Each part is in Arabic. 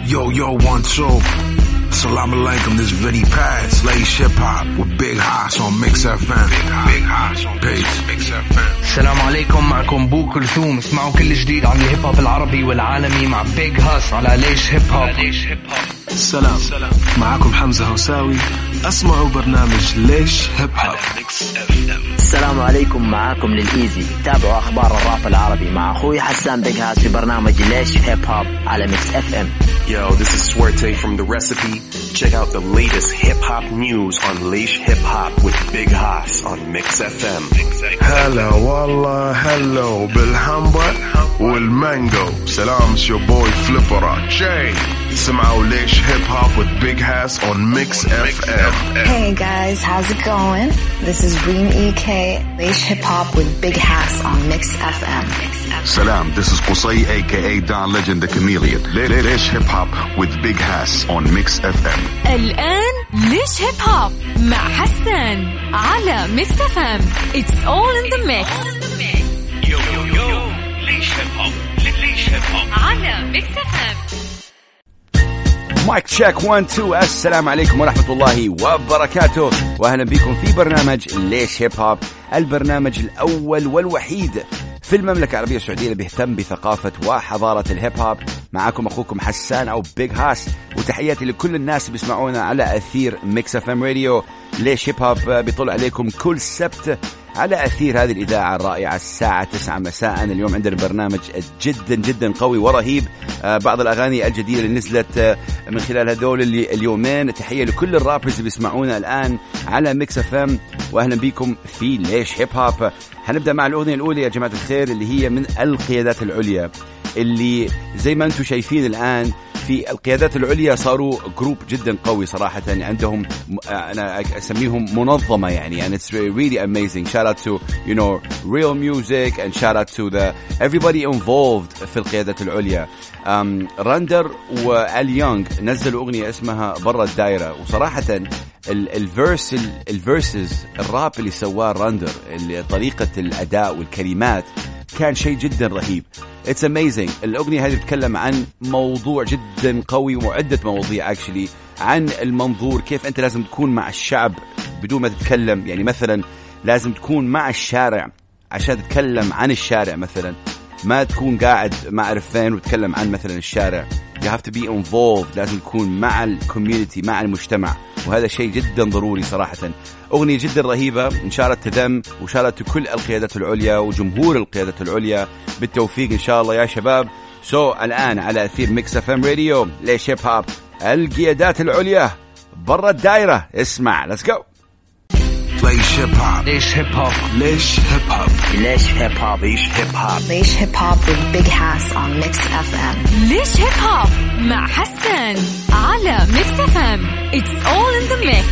Yo, 1, 2. Salam alaikum, this Vinny Paz, Slash Hip Hop with Big Haas on Mix FM. Big Haas on Mix FM. السلام عليكم، معكم بو كلثوم. اسمعوا كل جديد عن الهيب هوب العربي والعالمي مع بيج هاس على ليش هيب هوب. السلام، معكم حمزة هوساوي. اسمعوا برنامج ليش هيب هوب. السلام عليكم، معاكم للإيزي. تابعوا أخبار الراب العربي مع أخوي حسان بيج هاس في برنامج ليش هيب هوب على ميكس اف ام. Yo, this is Swerte from The Recipe. Check out the latest hip-hop news on Leish Hip Hop with Big Haas on Mix FM. هلا والله هلو بالحمبة والمانجو. سلام your boy Flipper Jay. سمعوا ليش hip hop with Big Haas on Mix FM. Hey guys, how's it going? This is Reem EK. Leish Hip Hop with Big Haas on Mix FM. Salam, this is Qusay aka Don Legend the Chameleon. Leish Hip Hop with Big Haas on Mix FM. الآن ليش هيب هوب مع حسان على ميكس اف ام. It's all in the mix. Yo, ليش هيب هوب على ميكس اف ام. مايك تشيك 1 2. السلام عليكم ورحمة الله وبركاته، وأهلا بكم في برنامج ليش هيب هوب، البرنامج الأول والوحيد في المملكة العربية السعودية اللي بيهتم بثقافة وحضارة الهيب هوب. معاكم أخوكم حسان أو بيج هاس، وتحياتي لكل الناس اللي بيسمعونا على أثير ميكس اف ام راديو. ليش هيب هوب بيطلع عليكم كل سبت على أثير هذه الإذاعة الرائعة الساعة 9 مساء. اليوم عندنا برنامج جدا جدا قوي ورهيب. بعض الأغاني الجديدة اللي نزلت من خلال هذول اليومين. تحية لكل الرابرز اللي بيسمعونا الآن على ميكس اف ام، وأهلا بكم في ليش هيب هوب. هنبدأ مع الأغنية الأولى يا جماعة الخير، اللي هي من القيادات العليا، اللي زي ما أنتم شايفين الآن في القيادات العليا صاروا جروب جدا قوي صراحة. عندهم أنا أسميهم منظمة يعني it's really amazing. Shout out to real music and shout out to the everybody involved في القيادات العليا. راندر وآل يونغ نزلوا أغنية اسمها برا الدائرة، وصراحة الفيرسز الراب اللي سواه راندر، طريقة الأداء والكلمات كان شيء جدا رهيب. It's amazing. الأغنية هذه بتتكلم عن موضوع جدا قوي وعدة مواضيع actually، عن المنظور، كيف أنت لازم تكون مع الشعب بدون ما تتكلم. يعني مثلا لازم تكون مع الشارع عشان تتكلم عن الشارع، مثلا ما تكون قاعد ما أعرف فين وتتكلم عن مثلا الشارع. You have to be involved. لازم تكون مع الكوميونيتي، مع المجتمع، وهذا شيء جدا ضروري صراحة. أغنية جدا رهيبة، انشارت تذم وشارت كل القيادات العليا وجمهور القيادات العليا بالتوفيق إن شاء الله يا شباب. الآن على أثير ميكس اف ام راديو ليش هيب هوب، القيادات العليا برا الدائرة. اسمع، let's go. ليش هيب هوب، ليش هيب هوب، ليش هيب هوب، ليش هيب هوب، ليش هيب هوب. Leish Hip Hop with Big Haas on Mix FM. ليش هيب هوب مع حسان على ميكس اف ام. It's all in the mix.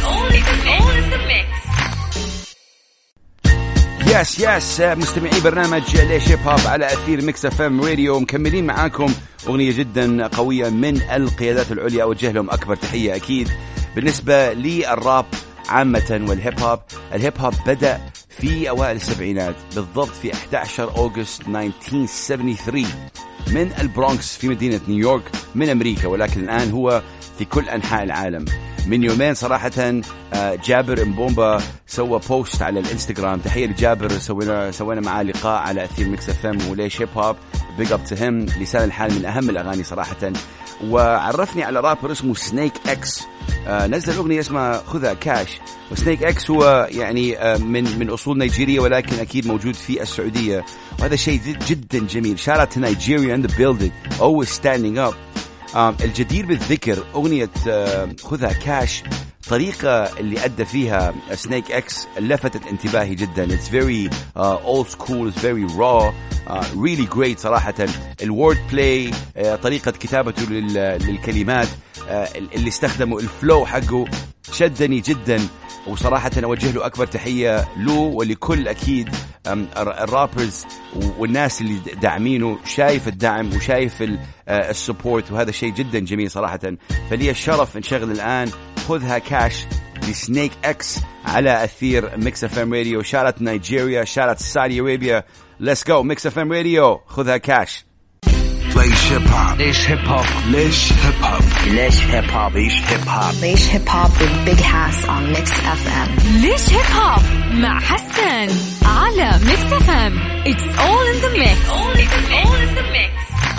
يس مستمعي برنامج ليش هيب هوب على أثير ميكس اف ام راديو، مكملين معاكم أغنية جدا قوية من القيادات العليا، أوجه لهم أكبر تحية أكيد. بالنسبة للراب عامة والهيب هوب، الهيب هوب بدأ في أوائل السبعينات، بالضبط في 11 أغسطس 1973 من البرونكس في مدينة نيويورك من أمريكا، ولكن الآن هو في كل أنحاء العالم. من يومين صراحة جابر مبومبا سوى بوست على الانستغرام، تحية لجابر، سوينا معاه لقاء على أثير ميكس اف ام وليش هيب هوب. بيج اب تو هيم، لسان الحال من أهم الأغاني صراحة. وعرفني على رابر اسمه سنيك اكس، نزل أغنية اسمها خذها كاش. وسنيك اكس هو يعني من أصول نيجيرية، ولكن أكيد موجود في السعودية، وهذا شيء جدا جميل. shout out to Nigeria in the building, always standing up. الجدير بالذكر أغنية خذها كاش، طريقة اللي أدى فيها سنيك اكس لفتت انتباهي جدا. It's very old school, it's very raw, really great صراحة. الword play، طريقة كتابته للكلمات، اللي استخدموا الفلو حقه شدني جدا، وصراحة أوجه له أكبر تحية له ولكل أكيد الرابرز والناس اللي داعمينه. شايف الدعم وشايف السبورت، وهذا شيء جدا جميل صراحة. فلي الشرف نشغل الآن خذها كاش لسنيك اكس على أثير ميكس اف ام راديو. شارت نيجيريا، شارت سعودي أرابيا. Let's go ميكس اف ام راديو، خذها كاش. ليش هيب هوب ليش هيب هوب ليش هيب هوب ليش هيب هوب ليش هيب هوب ليش hip hop with Big Hass on Mix FM. ليش هيب هوب مع حسن على ميكس اف ام. It's all in the mix. All in the mix.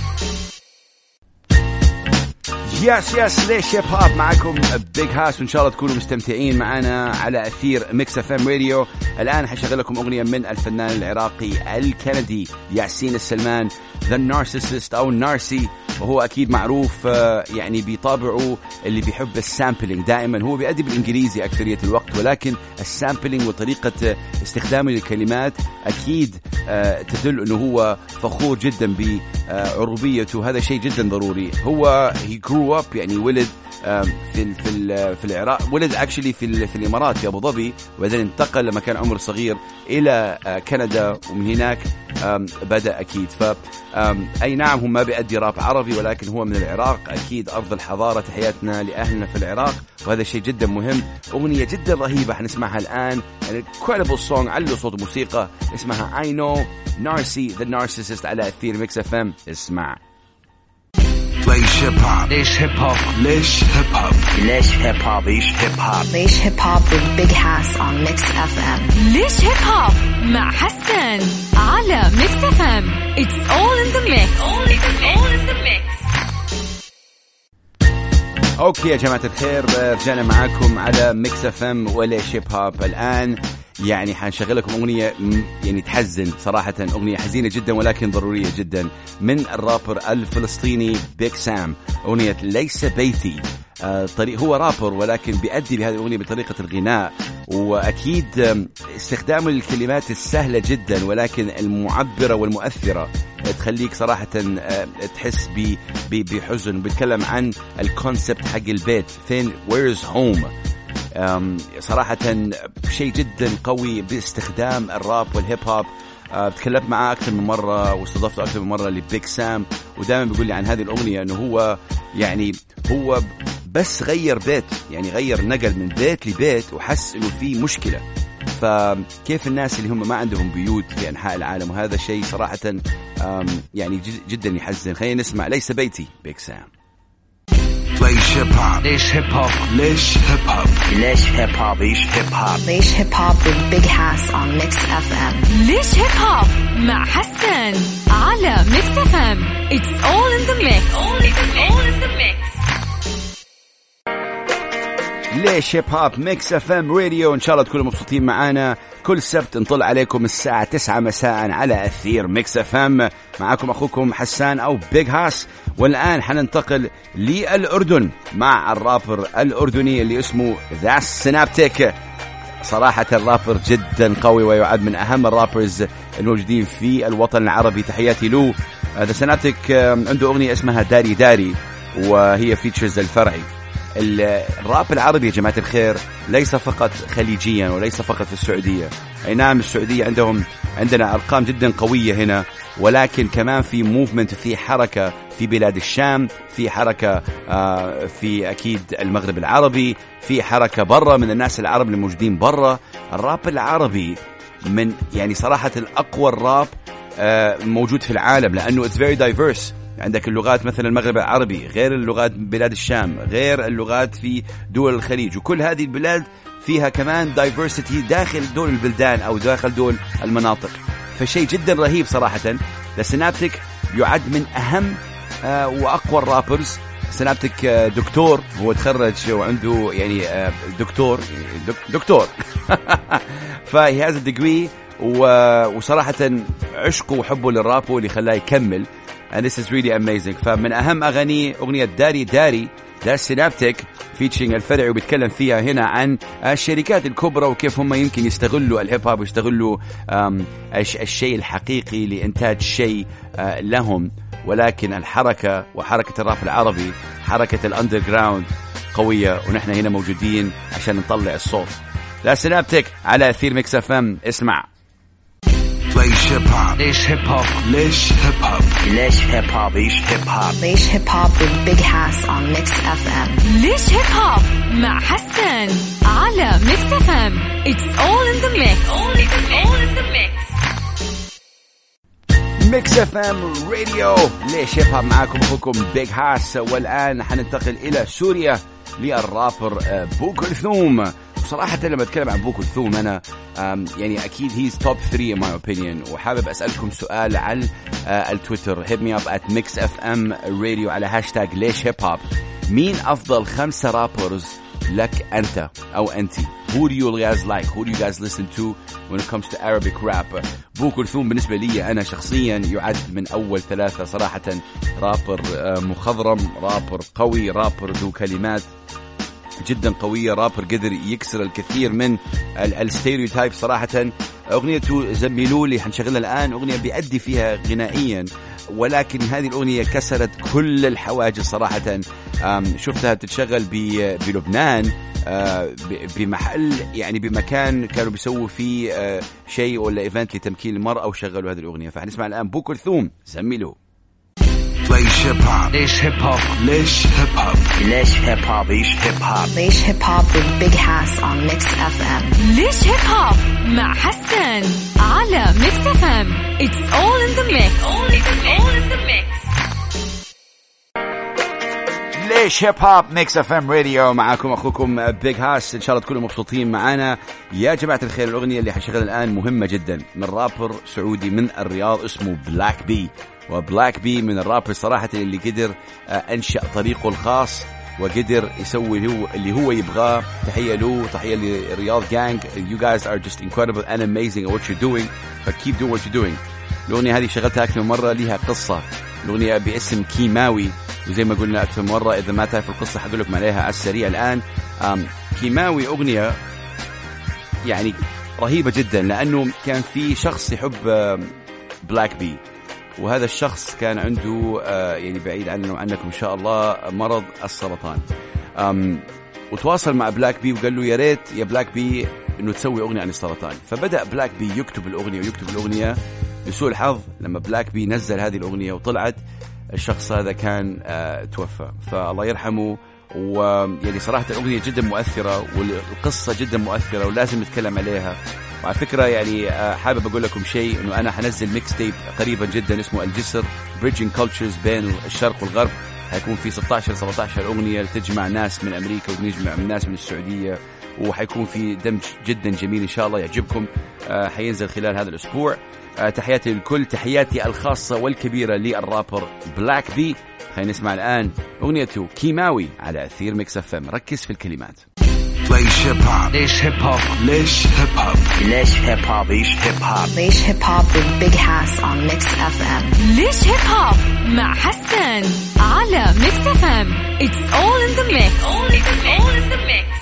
يس ليش هيب هوب معكم بيج هاس، وإن شاء الله تكونوا مستمتعين معنا على أثير ميكس اف ام راديو. الآن حشغل لكم أغنية من الفنان العراقي الكندي ياسين السلمان، The Narcissist أو نارسي، وهو أكيد معروف يعني بطابعه اللي بيحب السامبلينج دائما. هو بيأدي بالإنجليزي أكثرية الوقت، ولكن السامبلينج وطريقة استخدامه للكلمات أكيد تدل أنه هو فخور جدا بعروبيته. هذا شيء جدا ضروري. هو he grew up يعني ولد في العراق، ولد actually في الإمارات في أبو ظبي، وبعدين انتقل لما كان عمر صغير إلى كندا، ومن هناك بدأ أكيد. أي نعم هم ما بيأدي راب عربي، ولكن هو من العراق، أكيد أرض الحضارة. تحياتنا لأهلنا في العراق، وهذا شيء جدا مهم. أغنية جدا رهيبة حنسمعها الآن، incredible song، علو صوت موسيقى، اسمها I Know Narcy The Narcissist على أثير ميكس اف ام. اسمع. ليش هيب هوب ليش هيب هوب ليش هيب هوب ليش هيب هوب ليش هيب هوب ليش hip hop with Big Hass on Mix FM. ليش هيب هوب مع حسن على ميكس اف ام. It's all in the mix. All in the mix. اوكي يا جماعة الخير، رجعنا معاكم على ميكس اف ام وليش هيب هوب. الآن يعني حنشغل لكم أغنية يعني تحزن صراحة، أغنية حزينة جدا ولكن ضرورية جدا، من الرابر الفلسطيني بيك سام. أغنية ليس بيتي. هو رابر ولكن بيأدي بهذه الأغنية بطريقة الغناء، وأكيد استخدامه للكلمات السهلة جدا ولكن المعبرة والمؤثرة تخليك صراحة تحس بحزن. بيتكلم عن الكونسبت حق البيت، فين where's home. صراحة شيء جدا قوي باستخدام الراب والهيب هوب. تكلمت معاه أكثر من مرة واستضفته أكثر من مرة لبيك سام، ودائما بيقول لي عن هذه الأغنية أنه هو يعني هو بس غير بيت، يعني غير نقل من بيت لبيت وحس أنه في مشكلة. فكيف الناس اللي هم ما عندهم بيوت في أنحاء العالم، وهذا شيء صراحة يعني جدا يحزن. خلينا نسمع ليس بيتي بيك سام. ليش هيب هوب ليش هيب هوب ليش هيب هوب ليش هيب هوب ليش هيب هوب ليش hip hop with Big Hass on Mix FM. ليش هيب هوب مع حسن على ميكس اف ام. It's all in the mix. All in the mix. ليش هيب هوب ميكس اف ام راديو. ان شاء الله تكونوا مبسوطين معانا. كل سبت نطل عليكم الساعة 9 مساء على أثير ميكس اف ام. معكم أخوكم حسان أو بيج هاس. والآن حننتقل للأردن مع الرابر الأردني اللي اسمه ذا سينابتيك. صراحة الرابر جدا قوي ويعد من أهم الرابرز الموجودين في الوطن العربي. تحياتي له. ذا سينابتيك عنده أغنية اسمها داري داري، وهي فيتشرز الفرعي. الراب العربي يا جماعة الخير ليس فقط خليجيا وليس فقط في السعودية. أي نعم السعودية عندنا أرقام جدا قوية هنا، ولكن كمان في موفمنت، في حركة في بلاد الشام، في حركة في أكيد المغرب العربي، في حركة برا من الناس العرب اللي موجودين برا. الراب العربي من يعني صراحة الأقوى الراب موجود في العالم، لأنه it's very diverse. عندك اللغات مثلا المغرب العربي غير اللغات بلاد الشام غير اللغات في دول الخليج، وكل هذه البلاد فيها كمان diversity داخل دول البلدان أو داخل دول المناطق. فشيء جدا رهيب صراحة. السينابتيك يعد من أهم وأقوى الرابرز. سينابتيك دكتور، هو تخرج وعنده يعني دكتور فهي هذا الدقوي، وصراحة عشقه وحبه للراب اللي خلاه يكمل. and this is really amazing. فمن أهم أغاني أغنية داري داري ده سينابتيك فيتشينج الفرعي، وبيتكلم فيها هنا عن الشركات الكبرى وكيف هم يمكن يستغلوا الهيب هوب ويستغلوا الشيء الحقيقي لإنتاج شيء لهم. ولكن الحركة وحركة الراب العربي حركة الأندر جراوند قوية، ونحن هنا موجودين عشان نطلع الصوت. لا سينابتيك على أثير ميكس اف ام. اسمع. ليش هيب هوب ليش هيب هوب ليش هيب هوب ليش هيب هوب ليش هيب هوب ليش hip hop with Big Hass on Mix FM. ليش هيب هوب مع حسن على ميكس اف ام. It's all in the mix. All in the mix. ميكس ميكس اف ام راديو. ليش هيب هوب معاكم اخوكم بيج هاس. والان حننتقل الى سوريا للرابر بو كلثوم. بصراحة لما اتكلم عن بو كلثوم انا يعني اكيد هيز توب 3 in my opinion. وحابب اسألكم سؤال على التويتر hit me up at mixfmradio على هاشتاج ليش هيب هوب. مين افضل 5 رابرز لك انت او انتي؟ Who do you guys like? Who do you guys listen to when it comes to Arabic rap? بو كلثوم بالنسبة لي أنا شخصيا يعد من أول 3 صراحة. رابر مخضرم، رابر قوي، رابر ذو كلمات جدا قوية، رابر قدر يكسر الكثير من الستيريوتايب صراحة. أغنيته زميلولي حنشغلها الآن، أغنية بيأدي فيها غنائيا، ولكن هذه الأغنية كسرت كل الحواجز صراحة. شفتها تتشغل بلبنان بمحل يعني بمكان كانوا بيسووا فيه شيء ولا ايفنت لتمكين المرأة وشغلوا هذه الأغنية. فحنسمع الآن بو كلثوم زميله. ليش هيب هوب، ليش هيب هوب، ليش هيب هوب، ليش هيب هوب، ليش هيب هوب، ليش هيب هوب with Big Hass on Mix FM. ليش هيب هوب مع حسان على ميكس اف ام. It's all in the mix. All in the mix. ليش هيب هوب ميكس اف ام راديو. معاكم اخوكم بيج هاس. ان شاء الله تكونوا مبسوطين معانا يا جماعه الخير. الاغنيه اللي حنشغلها الان مهمه جدا من رابر سعودي من الرياض اسمه بلاك بي. وبلاك بي من الرابر صراحه اللي قدر انشا طريقه الخاص وقدر يسوي اللي هو يبغاه. تحيه له، تحيه لرياض جانج. You guys are just incredible and amazing at what you're doing, but keep doing what you're doing. الاغنيه هذه شغلتها اكثر من مره، لها قصه. الاغنيه باسم كيماوي، وزي ما قلنا أكثر مرة إذا ما تعرف القصة حقول لكم عليها على السريع الآن. كيماوي أغنية يعني رهيبة جدا، لأنه كان في شخص يحب بلاك بي، وهذا الشخص كان عنده يعني بعيد عننا وعنكم إن شاء الله مرض السرطان. وتواصل مع بلاك بي وقال له يا ريت يا بلاك بي إنه تسوي أغنية عن السرطان. فبدأ بلاك بي يكتب الأغنية لسوء الحظ لما بلاك بي نزل هذه الأغنية وطلعت الشخص هذا كان توفى، فالله يرحمه. ويعني صراحة الأغنية جدا مؤثرة والقصة جدا مؤثرة ولازم نتكلم عليها. وعلى فكرة يعني حابب أقول لكم شيء، إنه أنا حنزل ميكس تيب قريبا جدا اسمه الجسر Bridging Cultures بين الشرق والغرب. هيكون في 16-17 أغنية تجمع ناس من أمريكا ونجمع ناس من السعودية، وحيكون في دمج جدا جميل إن شاء الله يعجبكم. حينزل خلال هذا الأسبوع. تحياتي للكل، تحياتي الخاصة والكبيرة للرابر بلاك بي. خلينا نسمع الآن أغنيته كيماوي على أثير ميكس اف ام. ركز في الكلمات. ليش هيب هوب، ليش هيب هوب، ليش هيب هوب، ليش هيب هوب، ليش هيب هوب، ليش هيب هوب with Big Hass on Mix FM. ليش هيب هوب مع حسان على ميكس اف ام. It's all in the mix. All in the mix.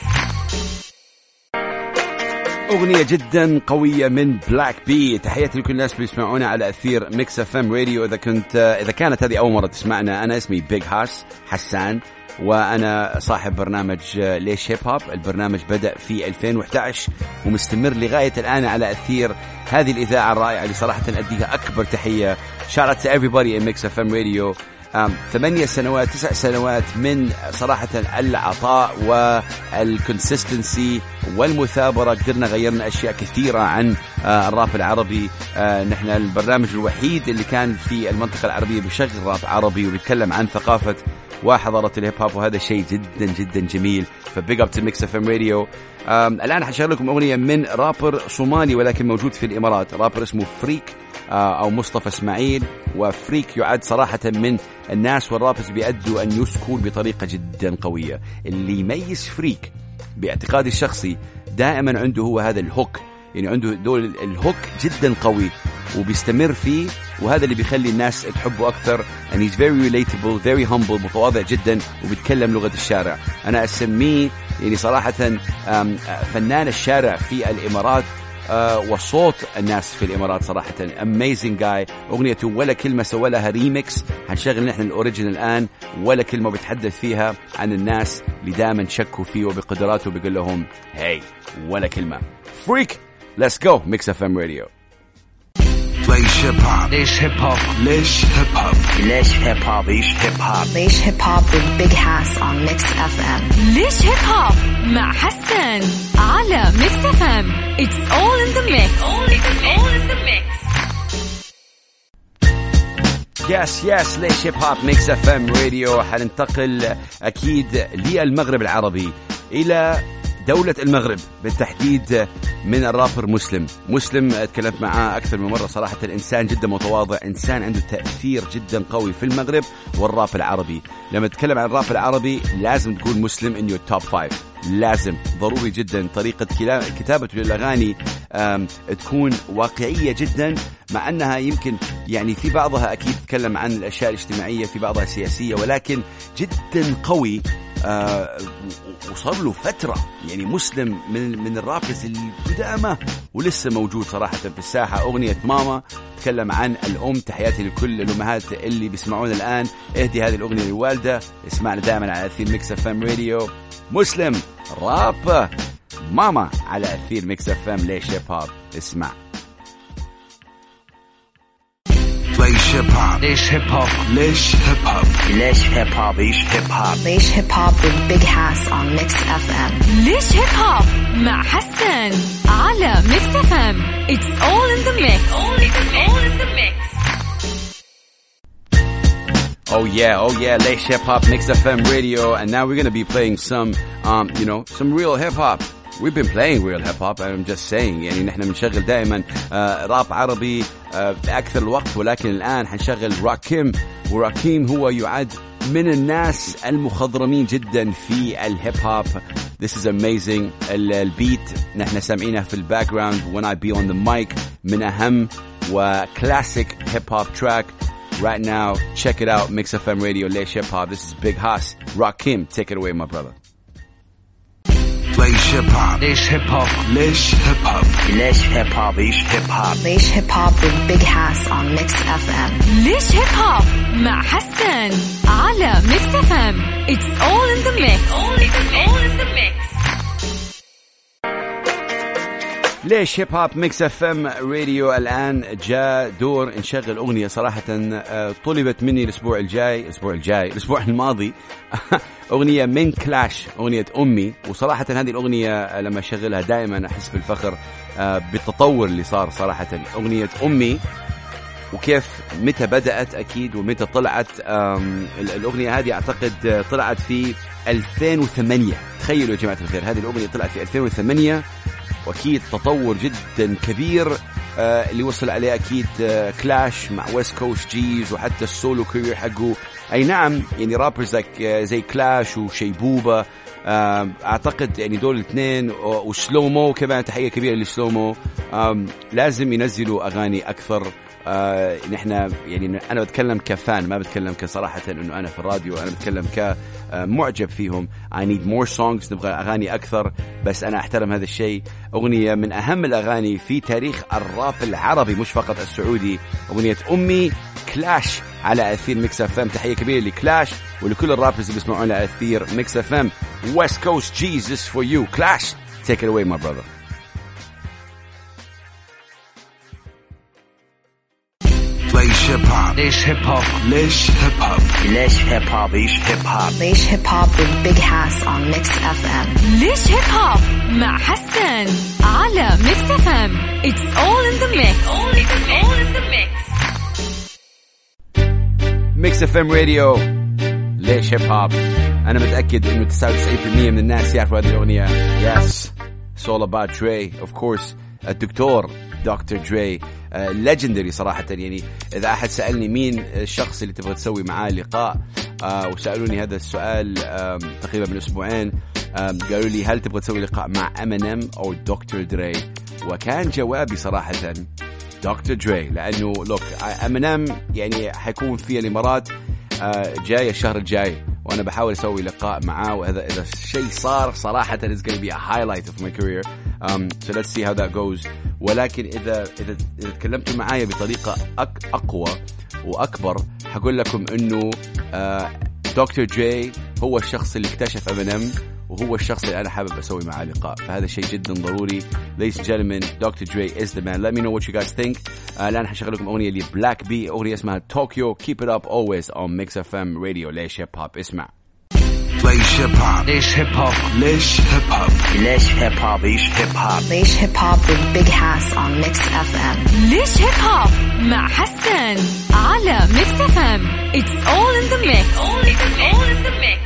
أغنية جدا قوية من بلاك بي. تحياتي لكل الناس بيسمعونا على أثير ميكس اف ام راديو. إذا كانت هذه أول مرة تسمعنا، أنا اسمي بيج هاس حسان، وأنا صاحب برنامج ليش هيب هوب. البرنامج بدأ في 2011 ومستمر لغاية الآن على أثير هذه الإذاعة الرائعة اللي صراحة أديها أكبر تحية. Shout out to everybody in Mix FM Radio. 8 سنوات 9 سنوات من صراحة العطاء والكونسيستنسي والمثابرة. قدرنا غيرنا أشياء كثيرة عن الراب العربي. نحن البرنامج الوحيد اللي كان في المنطقة العربية بيشغل راب عربي وبيتكلم عن ثقافة وحضارة الهيب هوب، وهذا شيء جدا جدا جميل. فبيج اب تو ميكس اف ام راديو. الآن حشغل لكم أغنية من رابر صومالي ولكن موجود في الإمارات، رابر اسمه فريك أو مصطفى إسماعيل. وفريك يعد صراحة من الناس والرابرز بيأدوا النيو سكول بطريقة جدا قوية. اللي يميز فريك باعتقادي الشخصي دائما عنده هو هذا الهوك، يعني عنده دول الهوك جدا قوي وبيستمر فيه، وهذا اللي بيخلي الناس تحبه أكثر. and he's very relatable, very humble، متواضع جدا وبيتكلم لغة الشارع. أنا أسميه يعني صراحة فنان الشارع في الإمارات وصوت الناس في الإمارات صراحة. amazing guy. أغنيته ولا كلمة سوى لها ريميكس. هنشغل نحن الأوريجين الآن. ولا كلمة بتحدث فيها عن الناس اللي دائما شكوا فيه وبقدراته، بيقول لهم هاي ولا كلمة. فريك. let's go Mix FM Radio. ليش هيب هوب، ليش هيب هوب، ليش هيب هوب، ليش هيب هوب، ليش هيب هوب، ليش هيب هوب with Big Hass on Mix FM. ليش هيب هوب مع حسان على ميكس اف ام. It's all in the mix. All in the mix. يس ليش هيب هوب ميكس اف ام راديو. حننتقل اكيد للمغرب العربي، الى دولة المغرب بالتحديد، من الرابر مسلم. اتكلمت معاه أكثر من مرة صراحة. الإنسان جدا متواضع، إنسان عنده تأثير جدا قوي في المغرب والراب العربي. لما تتكلم عن الراب العربي لازم تكون مسلم in your top 5، لازم ضروري جدا. طريقة كتابته للأغاني تكون واقعية جدا، مع أنها يمكن يعني في بعضها أكيد تتكلم عن الأشياء الاجتماعية، في بعضها سياسية، ولكن جدا قوي. وصار له فترة يعني مسلم من الرابرز القدامى ولسه موجود صراحة في الساحة. أغنية ماما تكلم عن الأم، تحياتي لكل الأمهات اللي بيسمعون الآن. اهدي هذه الأغنية للوالدة. اسمعنا دائما على أثير ميكس اف ام راديو. مسلم راب ماما على أثير ميكس اف ام. ليش هيب هوب؟ اسمع. ليش هيب هوب؟ ليش هيب هوب؟ ليش هيب هوب؟ ليش هيب هوب؟ ليش هيب هوب؟ ليش هيب هوب with Big Hass on Mix FM. ليش هيب هوب مع حسن على ميكس اف ام. It's all in the mix. All in the mix. Oh yeah, ليش هيب هوب ميكس اف ام راديو. And now we're going to be playing some some real hip hop. We've been playing real hip hop. I'm just saying يعني نحن بنشغل دائما راب عربي بأكثر الوقت، ولكن الآن حنشغل راكيم. وراكيم هو يعد من الناس المخضرمين جدا في الهيب هوب. This is amazing. البيت نحن سامعينه في الباك جراوند when I be on the mic، من أهم وكلاسيك هيب هوب تراك right now. Check it out. Mix FM Radio. ليش هيب هوب. This is Big Hass. Rakim, take it away my brother. ليش هيب هوب؟ ليش هيب هوب؟ ليش هيب هوب؟ ليش هيب هوب؟ ليش هيب هوب؟ ليش هيب هوب with Big Hass on Mix FM. ليش هيب هوب مع حسن على ميكس اف ام. It's all in the mix. All in the mix. ليش هيب هوب ميكس اف ام راديو. الآن جاء دور نشغل أغنية صراحة طلبت مني الأسبوع الماضي أغنية من كلاش، أغنية أمي. وصراحة هذه الأغنية لما أشغلها دائما أحس بالفخر بالتطور اللي صار صراحة. أغنية أمي وكيف متى بدأت أكيد ومتى طلعت. الأغنية هذه أعتقد طلعت في 2008. تخيلوا يا جماعة الخير، هذه الأغنية طلعت في 2008، واكيد تطور جدا كبير اللي وصل عليه اكيد كلاش مع ويست كوست جيز، وحتى السولو كارير حقه. اي نعم يعني رابرز زي كلاش وشيبوبة اعتقد يعني دول الاثنين، وسلومو كمان تحية كبيرة لسلومو. لازم ينزلوا اغاني اكثر. نحن يعني انا بتكلم كفان، ما بتكلم كصراحة انه انا في الراديو، انا بتكلم كمعجب فيهم. I need more songs، نبغى اغاني اكثر، بس انا احترم هذا الشيء. اغنية من اهم الاغاني في تاريخ الراب العربي مش فقط السعودي، اغنية امي كلاش على اثير ميكس اف ام. تحية كبيرة لكلاش ولكل الرابرز اللي بيسمعون على اثير ميكس اف ام. West Coast Jesus for you. Clash, take it away my brother. ليش هيب هوب؟ ليش هيب هوب؟ ليش هيب هوب؟ ليش هيب هوب؟ ليش هيب هوب؟ ليش هيب هوب with Big Hass on Mix FM. ليش هيب هوب مع حسن على ميكس اف ام. It's all in the mix. All in the mix. ميكس اف ام راديو. ليش هيب هوب. انا متاكد انه 99% من الناس يعرفوا هذه الاغنيه. Yes, it's all about Dre of course. الدكتور دكتور دري legendary صراحة. يعني إذا أحد سألني مين الشخص اللي تبغى تسوي معاه لقاء وسألوني هذا السؤال تقريبا من أسبوعين، قالوا لي هل تبغى تسوي لقاء مع M&M أو دكتور دري؟ وكان جوابي صراحة دكتور دري، لأنه لوك M&M يعني حيكون في الإمارات جاي الشهر الجاي، وأنا بحاول أسوي لقاء معاه، وإذا الشيء صار صراحة it's going to be a highlight of my career. So let's see how that goes. ولكن إذا تكلمتوا معايا بطريقة أقوى وأكبر هقول لكم إنه دكتور جاي هو الشخص اللي اكتشف M&M، وهو الشخص اللي أنا حابب أسوي معاه لقاء، فهذا شيء جدا ضروري. Ladies and gentlemen, Dr. Dre is the man. Let me know what you guys think. الآن حشغل لكم أغنية لبلاك بي، أغنية اسمها Tokyo. Keep it up always on Mix FM Radio. ليش هيب هوب. اسمع. ليش هيب هوب ليش هيب هوب ليش هيب هوب ليش هيب هوب ليش هيب هوب ليش hip hop with Big Hass on Mix FM. ليش هيب هوب مع حسان على ميكس اف ام. It's all in the mix. All in the mix.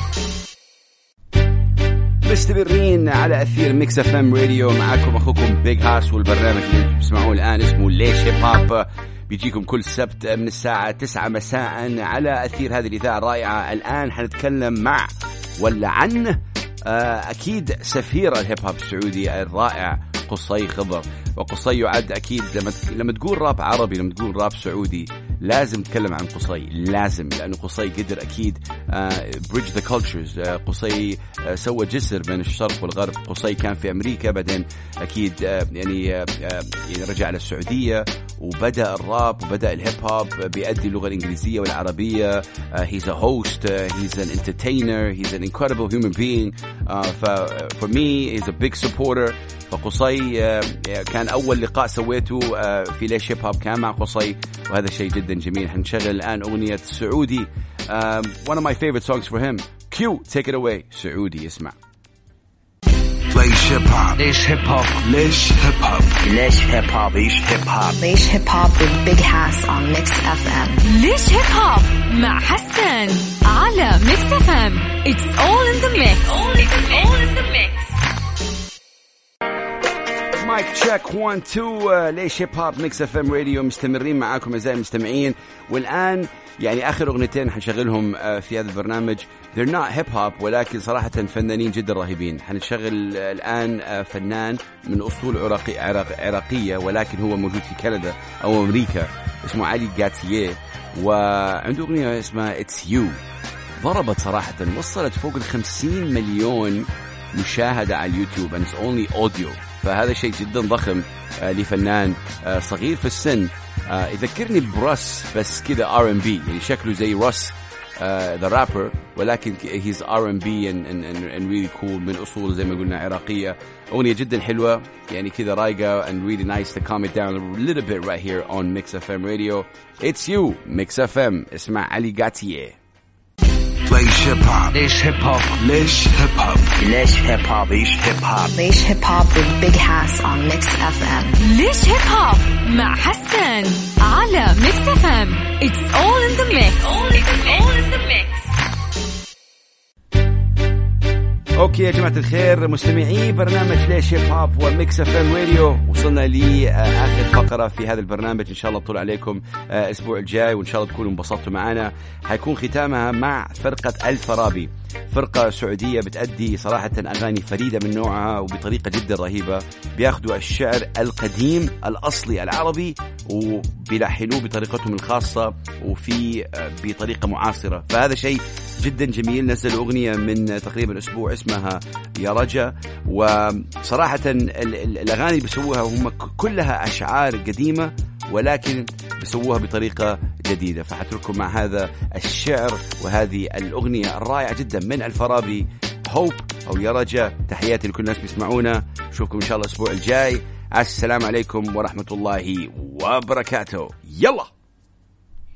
مستمرين على أثير ميكس اف ام راديو. معاكم أخوكم بيج هاس، والبرنامج اللي بتسمعوه الآن اسمه ليش هيب هوب. بيجيكم كل سبت من الساعة 9 مساء على أثير هذه الإذاعة الرائعة. الآن حنتكلم مع ولا عن أكيد سفير الهيب هوب السعودي الرائع قصي خضر. وقصي يعد أكيد لما تقول راب عربي، لما تقول راب سعودي، لازم تتكلم عن قصي، لازم، لأنه قصي قدر أكيد bridge the cultures. قصي سوى جسر بين الشرق والغرب. قصي كان في أمريكا، بعدين أكيد يعني رجع للسعودية وبدأ الراب وبدأ الهيب هوب بيأدي اللغة الإنجليزية والعربية. he's a host, he's an entertainer, he's an incredible human being. For me he's a big supporter. فقصي كان أول لقاء سويته في ليش هيب هوب كان مع قصي، وهذا شيء جدا جميل. هنشغل الآن أغنية سعودي, one of my favorite songs for him. Q, take it away. سعودي, اسمع. ليش هيب هوب ليش هيب هوب ليش هيب هوب ليش هيب هوب ليش هيب هوب ليش hip hop with Big Hass on Mix FM. ليش هيب هوب مع حسان على ميكس اف ام. It's all in the mix. All in the mix. مايك تشيك 1 2. ليش هيب هوب ميكس اف ام راديو. مستمرين معاكم اعزائي المستمعين، والان يعني اخر اغنيتين حنشغلهم في هذا البرنامج. they're not hip hop ولكن صراحه فنانين جدا رهيبين. حنشغل الان فنان من اصول عراقيه ولكن هو موجود في كندا او امريكا، اسمه علي غاتيه، وعنده اغنيه اسمها It's You. ضربت صراحه، وصلت فوق 50 مليون مشاهده على اليوتيوب and it's only audio. فهذا شيء جدا ضخم لفنان صغير في السن. يذكرني بروس بس كذا R&B، يعني شكله زي روس the rapper، ولكن he's R&B and really cool، من أصول زي ما قلنا عراقية. أغنية جدا حلوة يعني كذا رايقة and really nice to calm it down a little bit right here on Mix FM Radio. It's You, Mix FM. اسمع علي غاتيه. ليش هيب هوب ليش هيب هوب ليش هيب هوب ليش هيب هوب ليش هيب هوب ليش hip hop with Big Hass on Mix FM. ليش هيب هوب مع حسان على ميكس اف ام. It's all in the mix. All in the mix. اوكي يا جماعة الخير، مستمعي برنامج ليش هيب هوب وميكس اف ام راديو، وصلنا لآخر فقرة في هذا البرنامج. ان شاء الله طول عليكم الاسبوع الجاي، وان شاء الله تكونوا انبسطتوا معنا. حيكون ختامها مع فرقة الفارابي، فرقة سعودية بتأدي صراحة أغاني فريدة من نوعها وبطريقة جدا رهيبة. بياخدوا الشعر القديم الأصلي العربي وبيلحنوه بطريقتهم الخاصة وفي بطريقة معاصرة، فهذا شيء جدا جميل. نزلوا أغنية من تقريبا أسبوع اسمها يا رجا، وصراحة الأغاني اللي بيسووها هم كلها أشعار قديمة ولكن بيسووها بطريقة جديدة. فحترككم مع هذا الشعر وهذه الأغنية الرائعة جدا من الفارابي، هوب أو يا رجا. تحياتي لكل الناس بيسمعونا، نشوفكم إن شاء الله الأسبوع الجاي. السلام عليكم ورحمة الله وبركاته. يلا.